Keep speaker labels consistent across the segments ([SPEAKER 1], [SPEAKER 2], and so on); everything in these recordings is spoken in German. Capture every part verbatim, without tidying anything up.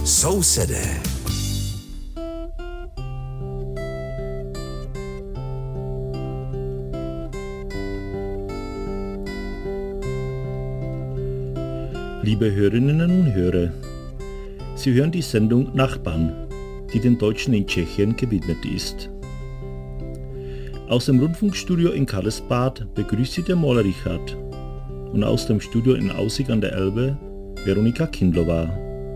[SPEAKER 1] Sousedé.
[SPEAKER 2] Liebe Hörerinnen und Hörer, Sie hören die Sendung Nachbarn, die den Deutschen in Tschechien gewidmet ist. Aus dem Rundfunkstudio in Karlsbad begrüßt Sie der Maler Richard und aus dem Studio in Aussig an der Elbe Veronika Kindlová.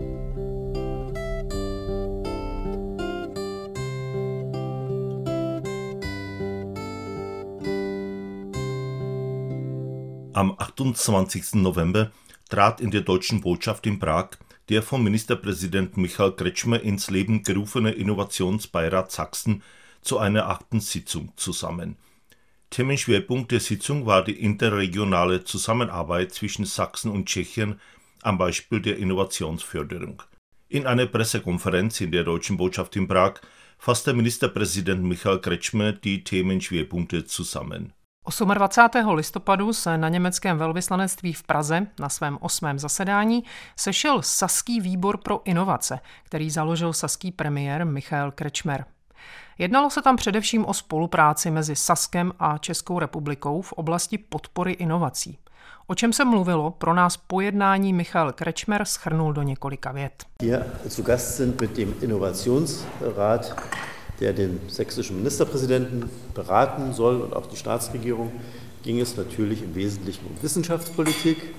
[SPEAKER 3] Am achtundzwanzigsten November trat in der deutschen Botschaft in Prag der vom Ministerpräsident Michael Kretschmer ins Leben gerufene Innovationsbeirat Sachsen zu einer achten Sitzung zusammen. Themenschwerpunkt der Sitzung war die interregionale Zusammenarbeit zwischen Sachsen und Tschechien am Beispiel der Innovationsförderung. In einer Pressekonferenz in der deutschen Botschaft in Prag fasste ministerpräsident Michael Kretschmer die Themenschwerpunkte zusammen.
[SPEAKER 4] dvacátého osmého listopadu se na německém velvyslanectví v Praze na svém osmém zasedání sešel Saský výbor pro inovace, který založil saský premiér Michael Kretschmer. Jednalo se tam především o spolupráci mezi Saskem a Českou republikou v oblasti podpory inovací. O čem se mluvilo, pro nás po jednání Michael Kretschmer shrnul do několika vět.
[SPEAKER 5] Hier zu Gast sind mit dem Innovationsrat, der den sächsischen Ministerpräsidenten beraten soll und auch die Staatsregierung, ging es natürlich im Wesentlichen um Wissenschaftspolitik.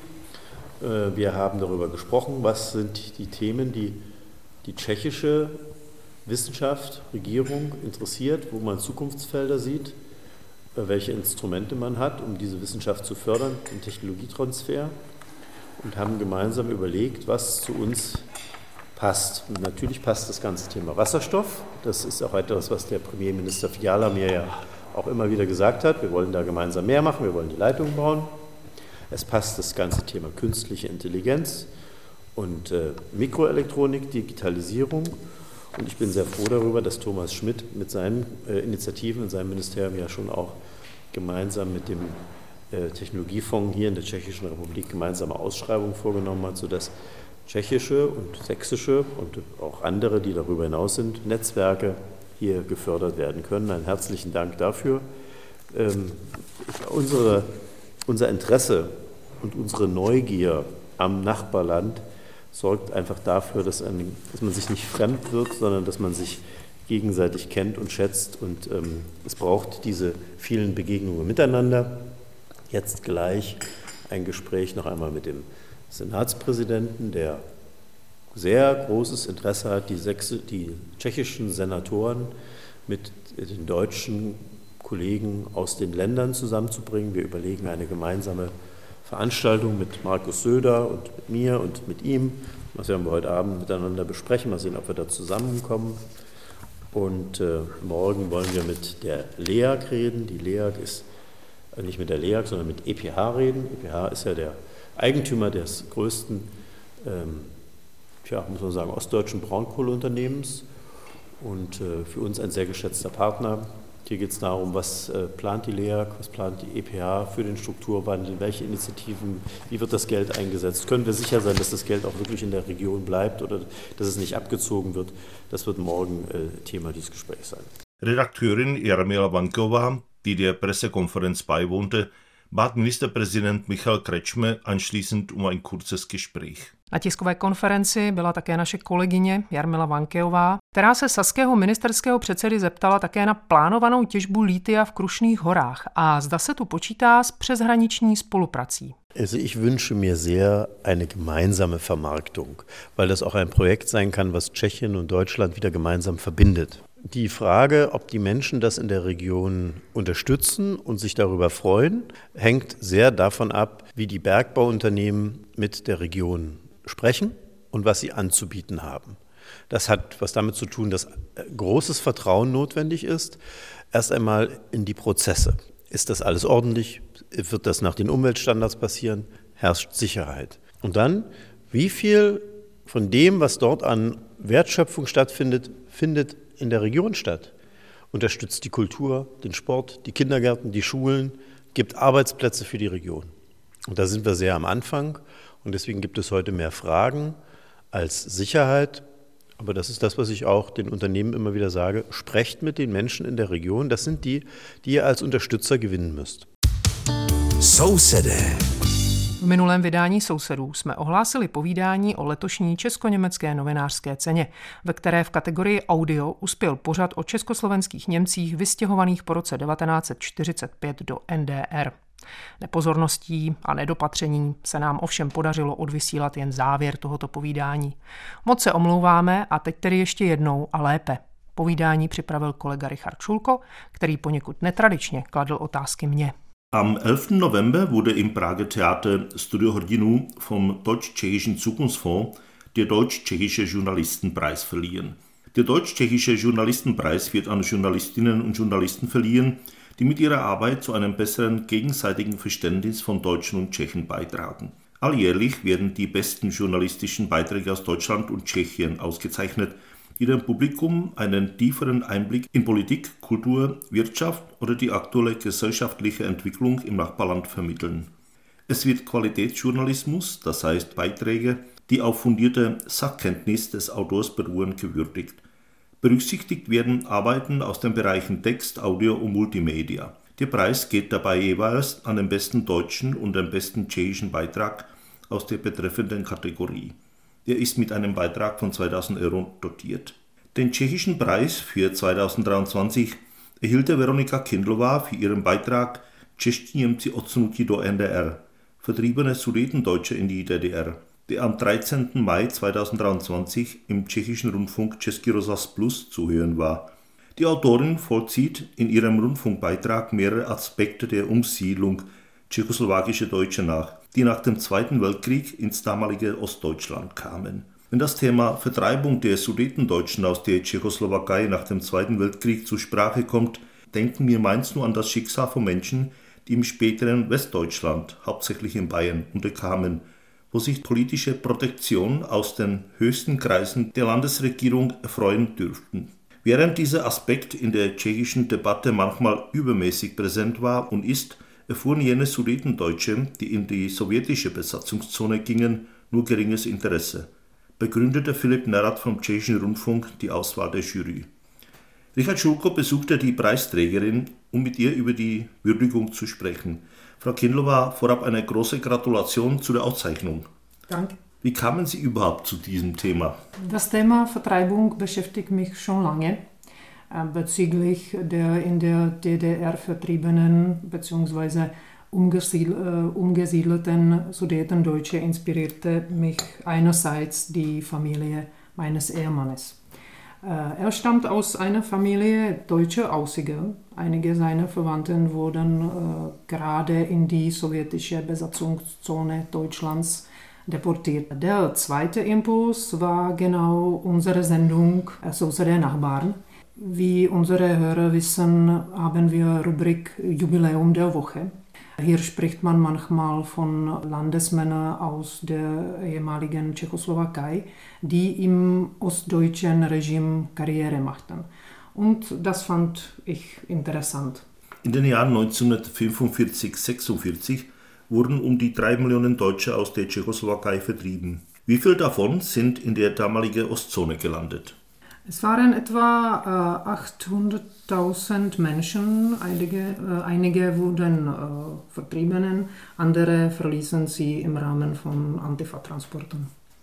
[SPEAKER 5] Wir haben darüber gesprochen, was sind die Themen, die die tschechische Wissenschaft, Regierung interessiert, wo man Zukunftsfelder sieht, welche Instrumente man hat, um diese Wissenschaft zu fördern, den Technologietransfer, und haben gemeinsam überlegt, was zu uns passt. Und natürlich passt das ganze Thema Wasserstoff. Das ist auch etwas, was der Premierminister Fiala mir ja auch immer wieder gesagt hat. Wir wollen da gemeinsam mehr machen, wir wollen die Leitungen bauen. Es passt das ganze Thema künstliche Intelligenz und äh, Mikroelektronik, Digitalisierung. Und ich bin sehr froh darüber, dass Thomas Schmidt mit seinen äh, Initiativen in seinem Ministerium ja schon auch gemeinsam mit dem äh, Technologiefonds hier in der Tschechischen Republik gemeinsame Ausschreibungen vorgenommen hat, sodass tschechische und sächsische und auch andere, die darüber hinaus sind, Netzwerke hier gefördert werden können. Einen herzlichen Dank dafür. Ähm, unsere, unser Interesse und unsere Neugier am Nachbarland sorgt einfach dafür, dass, ein, dass man sich nicht fremd wird, sondern dass man sich gegenseitig kennt und schätzt. Und ähm, es braucht diese vielen Begegnungen miteinander. Jetzt gleich ein Gespräch noch einmal mit dem Senatspräsidenten, der sehr großes Interesse hat, die, Sechse, die tschechischen Senatoren mit den deutschen Kollegen aus den Ländern zusammenzubringen. Wir überlegen eine gemeinsame Veranstaltung mit Markus Söder und mit mir und mit ihm. Das werden wir heute Abend miteinander besprechen. Mal sehen, ob wir da zusammenkommen. Und äh, morgen wollen wir mit der L E A G reden. Die L E A G ist äh, nicht mit der L E A G, sondern mit E P H reden. E P H ist ja der Eigentümer des größten, ähm, tja, muss man sagen, ostdeutschen Braunkohleunternehmens und äh, für uns ein sehr geschätzter Partner. Hier geht es darum, was äh, plant die L E A G, was plant die E P H für den Strukturwandel, welche Initiativen, wie wird das Geld eingesetzt? Können wir sicher sein, dass das Geld auch wirklich in der Region bleibt oder dass es nicht abgezogen wird? Das wird morgen äh, Thema dieses Gesprächs sein.
[SPEAKER 3] Redakteurin Jarmila Vanková, die der Pressekonferenz beiwohnte, bat ministerpräsident Michael Kretschmer anschließend um ein kurzes Gespräch.
[SPEAKER 4] Na tiskové konferenci byla také naše kolegyně Jarmila Vanková, která se saského ministerského předsedy zeptala také na plánovanou těžbu lítia v Krušných horách a zda se tu počítá s přeshraniční spoluprací.
[SPEAKER 5] Also ich wünsche mir sehr eine gemeinsame Vermarktung, weil das auch ein Projekt sein kann, was Tschechien und Deutschland wieder gemeinsam verbindet. Die Frage, ob die Menschen das in der Region unterstützen und sich darüber freuen, hängt sehr davon ab, wie die Bergbauunternehmen mit der Region sprechen und was sie anzubieten haben. Das hat was damit zu tun, dass großes Vertrauen notwendig ist, erst einmal in die Prozesse. Ist das alles ordentlich? Wird das nach den Umweltstandards passieren? Herrscht Sicherheit? Und dann, wie viel von dem, was dort an Wertschöpfung stattfindet, findet in der Region statt? Unterstützt die Kultur, den Sport, die Kindergärten, die Schulen, gibt Arbeitsplätze für die Region. Und da sind wir sehr am Anfang und deswegen gibt es heute mehr Fragen als Sicherheit. Aber das ist das, was ich auch den Unternehmen immer wieder sage. Sprecht mit den Menschen in der Region. Das sind die, die ihr als Unterstützer gewinnen müsst.
[SPEAKER 4] Sousedé. V minulém vydání Sousedů jsme ohlásili povídání o letošní česko-německé novinářské ceně, ve které v kategorii audio uspěl pořad o československých Němcích vystěhovaných po roce devatenáct set čtyřicet pět do N D R. Nepozorností a nedopatřením se nám ovšem podařilo odvysílat jen závěr tohoto povídání. Moc se omlouváme a teď tedy ještě jednou a lépe. Povídání připravil kolega Richard Schulko, který poněkud netradičně kladl otázky mně.
[SPEAKER 3] Am elften November wurde im Prager Theater Studio Hrdinů vom Deutsch-Tschechischen Zukunftsfonds der Deutsch-Tschechische Journalistenpreis verliehen. Der Deutsch-Tschechische Journalistenpreis wird an Journalistinnen und Journalisten verliehen, die mit ihrer Arbeit zu einem besseren gegenseitigen Verständnis von Deutschen und Tschechen beitragen. Alljährlich werden die besten journalistischen Beiträge aus Deutschland und Tschechien ausgezeichnet, die dem Publikum einen tieferen Einblick in Politik, Kultur, Wirtschaft oder die aktuelle gesellschaftliche Entwicklung im Nachbarland vermitteln. Es wird Qualitätsjournalismus, das heißt Beiträge, die auf fundierte Sachkenntnis des Autors beruhen, gewürdigt. Berücksichtigt werden Arbeiten aus den Bereichen Text, Audio und Multimedia. Der Preis geht dabei jeweils an den besten deutschen und den besten tschechischen Beitrag aus der betreffenden Kategorie. Der ist mit einem Beitrag von zweitausend Euro dotiert. Den tschechischen Preis für zweitausenddreiundzwanzig erhielt Veronika Kindlová für ihren Beitrag Čeští Němci odsunutí do N D R, vertriebene Sudetendeutsche in die D D R, der am dreizehnten Mai zweitausenddreiundzwanzig im tschechischen Rundfunk Český rozhlas Plus zu hören war. Die Autorin vollzieht in ihrem Rundfunkbeitrag mehrere Aspekte der Umsiedlung tschechoslowakischer Deutsche nach, die nach dem Zweiten Weltkrieg ins damalige Ostdeutschland kamen. Wenn das Thema Vertreibung der Sudetendeutschen aus der Tschechoslowakei nach dem Zweiten Weltkrieg zur Sprache kommt, denken wir meist nur an das Schicksal von Menschen, die im späteren Westdeutschland, hauptsächlich in Bayern, unterkamen, wo sich politische Protektion aus den höchsten Kreisen der Landesregierung erfreuen dürften. Während dieser Aspekt in der tschechischen Debatte manchmal übermäßig präsent war und ist, erfuhren jene Sudetendeutsche, die in die sowjetische Besatzungszone gingen, nur geringes Interesse, begründete Philipp Nerad vom Tschechischen Rundfunk die Auswahl der Jury. Richard Schulko besuchte die Preisträgerin, um mit ihr über die Würdigung zu sprechen. Frau Kindlová, vorab eine große Gratulation zu der Auszeichnung.
[SPEAKER 4] Danke.
[SPEAKER 3] Wie kamen Sie überhaupt zu diesem Thema?
[SPEAKER 4] Das Thema Vertreibung beschäftigt mich schon lange. Bezüglich der in der D D R vertriebenen bzw. umgesiedelten Sudetendeutsche inspirierte mich einerseits die Familie meines Ehemannes. Er stammt aus einer Familie deutscher Aussiger. Einige seiner Verwandten wurden äh, gerade in die sowjetische Besatzungszone Deutschlands deportiert. Der zweite Impuls war genau unsere Sendung Sousedé Nachbarn. Wie unsere Hörer wissen, haben wir Rubrik Jubiläum der Woche. Hier spricht man manchmal von Landesmännern aus der ehemaligen Tschechoslowakei, die im ostdeutschen Regime Karriere machten. Und das fand ich interessant.
[SPEAKER 3] In den Jahren neunzehnhundertfünfundvierzig bis sechsundvierzig wurden um die drei Millionen Deutsche aus der Tschechoslowakei vertrieben. Wie viele davon sind in der damaligen Ostzone gelandet?
[SPEAKER 4] Es waren etwa äh, achthunderttausend Menschen, einige, äh, einige wurden äh, vertrieben, andere verließen sie im Rahmen von Antifa-Transporten.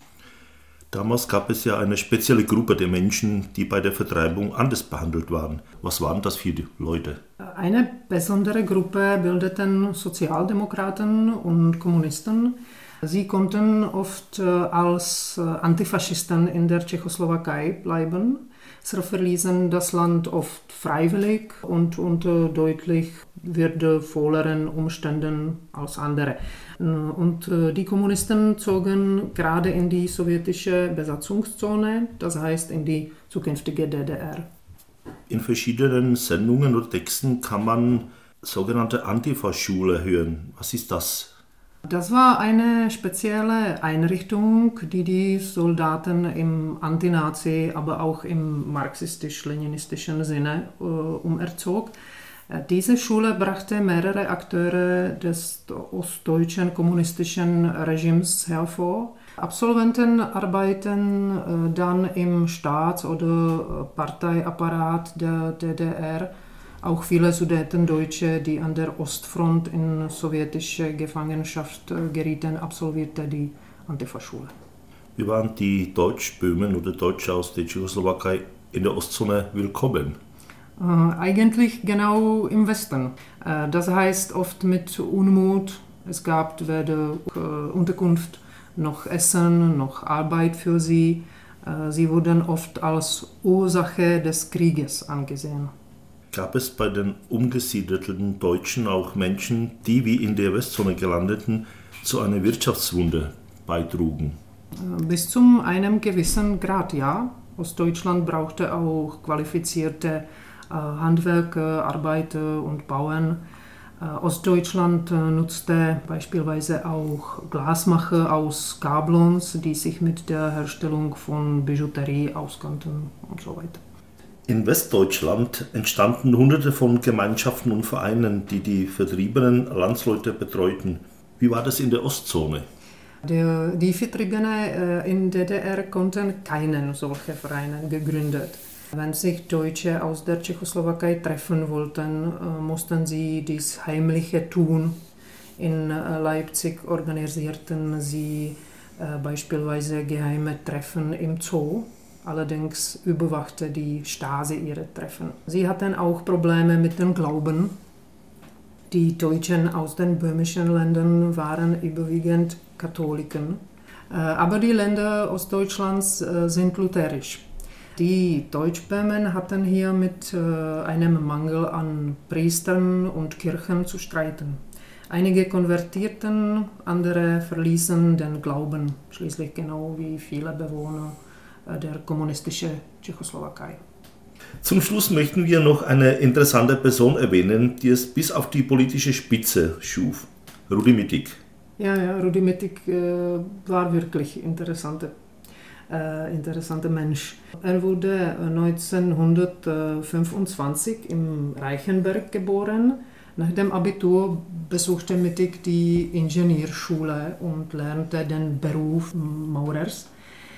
[SPEAKER 3] Damals gab es ja eine spezielle Gruppe der Menschen, die bei der Vertreibung anders behandelt waren. Was waren das für die Leute?
[SPEAKER 4] Eine besondere Gruppe bildeten Sozialdemokraten und Kommunisten. Sie konnten oft als Antifaschisten in der Tschechoslowakei bleiben. Sie verließen das Land oft freiwillig und unter deutlich würdevolleren Umständen als andere. Und die Kommunisten zogen gerade in die sowjetische Besatzungszone, das heißt in die zukünftige D D R.
[SPEAKER 3] In verschiedenen Sendungen oder Texten kann man sogenannte Antifa-Schule hören. Was ist das?
[SPEAKER 4] Das war eine spezielle Einrichtung, die die Soldaten im Antinazi, aber auch im marxistisch-leninistischen Sinne äh, umerzog. Diese Schule brachte mehrere Akteure des ostdeutschen kommunistischen Regimes hervor. Absolventen arbeiten dann im Staats- oder Parteiapparat der D D R. Auch viele Sudetendeutsche, die an der Ostfront in sowjetische Gefangenschaft gerieten, absolvierte die Antifa-Schule.
[SPEAKER 3] Wie waren die Deutschböhmen oder Deutsche aus der Tschechoslowakei in der Ostzone willkommen?
[SPEAKER 4] Äh, eigentlich genau im Westen. Äh, das heißt oft mit Unmut. Es gab weder äh, Unterkunft noch Essen noch Arbeit für sie. Äh, sie wurden oft als Ursache des Krieges angesehen.
[SPEAKER 3] Gab es bei den umgesiedelten Deutschen auch Menschen, die wie in der Westzone gelandeten, zu einer Wirtschaftswunde beitrugen?
[SPEAKER 4] Bis zu einem gewissen Grad, ja. Ostdeutschland brauchte auch qualifizierte äh, Handwerker, Arbeiter und Bauern. Äh, Ostdeutschland äh, nutzte beispielsweise auch Glasmacher aus Gablons, die sich mit der Herstellung von Bijouterie auskannten und so weiter.
[SPEAKER 3] In Westdeutschland entstanden Hunderte von Gemeinschaften und Vereinen, die die vertriebenen Landsleute betreuten. Wie war das in der Ostzone?
[SPEAKER 4] Der, die Vertriebenen äh, in der D D R konnten keinen solchen Verein gegründet. Wenn sich Deutsche aus der Tschechoslowakei treffen wollten, äh, mussten sie dies Heimliche tun. In äh, Leipzig organisierten sie äh, beispielsweise geheime Treffen im Zoo. Allerdings überwachte die Stasi ihre Treffen. Sie hatten auch Probleme mit dem Glauben. Die Deutschen aus den böhmischen Ländern waren überwiegend Katholiken. Aber die Länder Ostdeutschlands sind lutherisch. Die Deutschböhmen hatten hier mit einem Mangel an Priestern und Kirchen zu streiten. Einige konvertierten, andere verließen den Glauben, schließlich genau wie viele Bewohner der kommunistischen Tschechoslowakei.
[SPEAKER 3] Zum Schluss möchten wir noch eine interessante Person erwähnen, die es bis auf die politische Spitze schuf. Rudi Mittig.
[SPEAKER 4] Ja, ja, Rudi Mittig äh, war wirklich interessante, äh, interessanter Mensch. Er wurde neunzehnhundertfünfundzwanzig im Reichenberg geboren. Nach dem Abitur besuchte Mittig die Ingenieurschule und lernte den Beruf Maurers.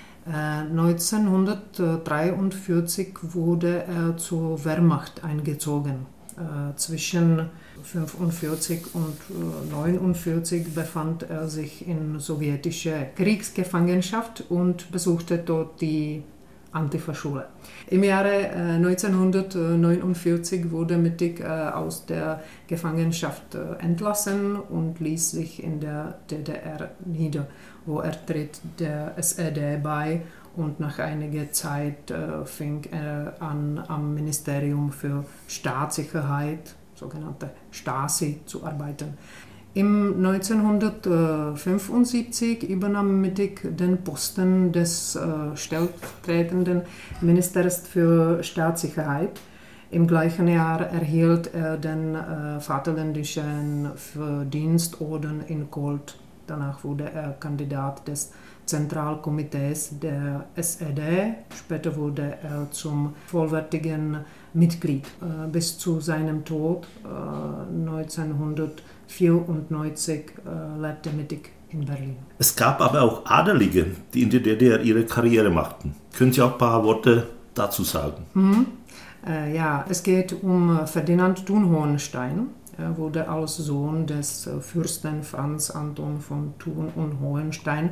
[SPEAKER 4] neunzehnhundertdreiundvierzig wurde er zur Wehrmacht eingezogen. Äh, zwischen fünfundvierzig und neunundvierzig befand er sich in sowjetischer Kriegsgefangenschaft und besuchte dort die Antifa-Schule. Im Jahre äh, neunzehnhundertneunundvierzig wurde Mittig äh, aus der Gefangenschaft äh, entlassen und ließ sich in der D D R nieder, wo er tritt der S E D bei und nach einiger Zeit äh, fing er an, am Ministerium für Staatssicherheit, sogenannte Stasi, zu arbeiten. Im neunzehnhundertfünfundsiebzig übernahm Mittig den Posten des äh, stellvertretenden Ministers für Staatssicherheit. Im gleichen Jahr erhielt er den äh, Vaterländischen Verdienstorden in Gold. Danach wurde er Kandidat des Zentralkomitees der S E D. Später wurde er zum vollwertigen Mitglied. Äh, bis zu seinem Tod äh, neunzehnhundertvierundneunzig äh, lebte Mittig in Berlin.
[SPEAKER 3] Es gab aber auch Adelige, die in der D D R ihre Karriere machten. Können Sie auch ein paar Worte dazu sagen?
[SPEAKER 4] Mhm. Äh, ja, es geht um Ferdinand Thun-Hohenstein. Er wurde als Sohn des Fürsten Franz Anton von Thun und Hohenstein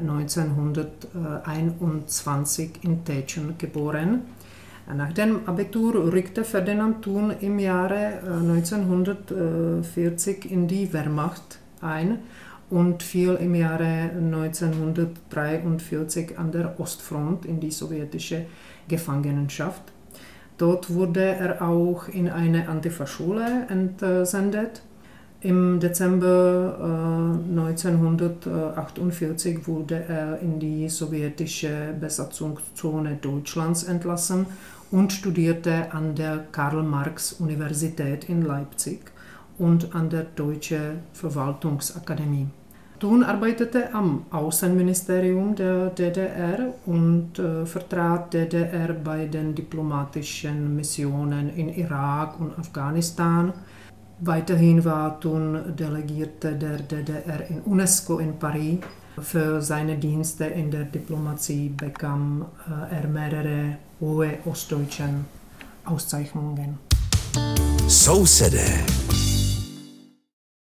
[SPEAKER 4] neunzehnhunderteinundzwanzig in Tetschen geboren. Nach dem Abitur rückte Ferdinand Thun im Jahre neunzehnhundertvierzig in die Wehrmacht ein und fiel im Jahre neunzehnhundertdreiundvierzig an der Ostfront in die sowjetische Gefangenschaft. Dort wurde er auch in eine Antifa-Schule entsendet. Im Dezember äh, neunzehnhundertachtundvierzig wurde er in die sowjetische Besatzungszone Deutschlands entlassen und studierte an der Karl-Marx-Universität in Leipzig und an der Deutschen Verwaltungsakademie. Thun arbeitete am Außenministerium der D D R und äh, vertrat D D R bei den diplomatischen Missionen in Irak und Afghanistan. Weiterhin war Thun Delegierte der D D R in UNESCO in Paris. Für seine Dienste in der Diplomatie bekam er mehrere hohe ostdeutschen Auszeichnungen.
[SPEAKER 1] So said er.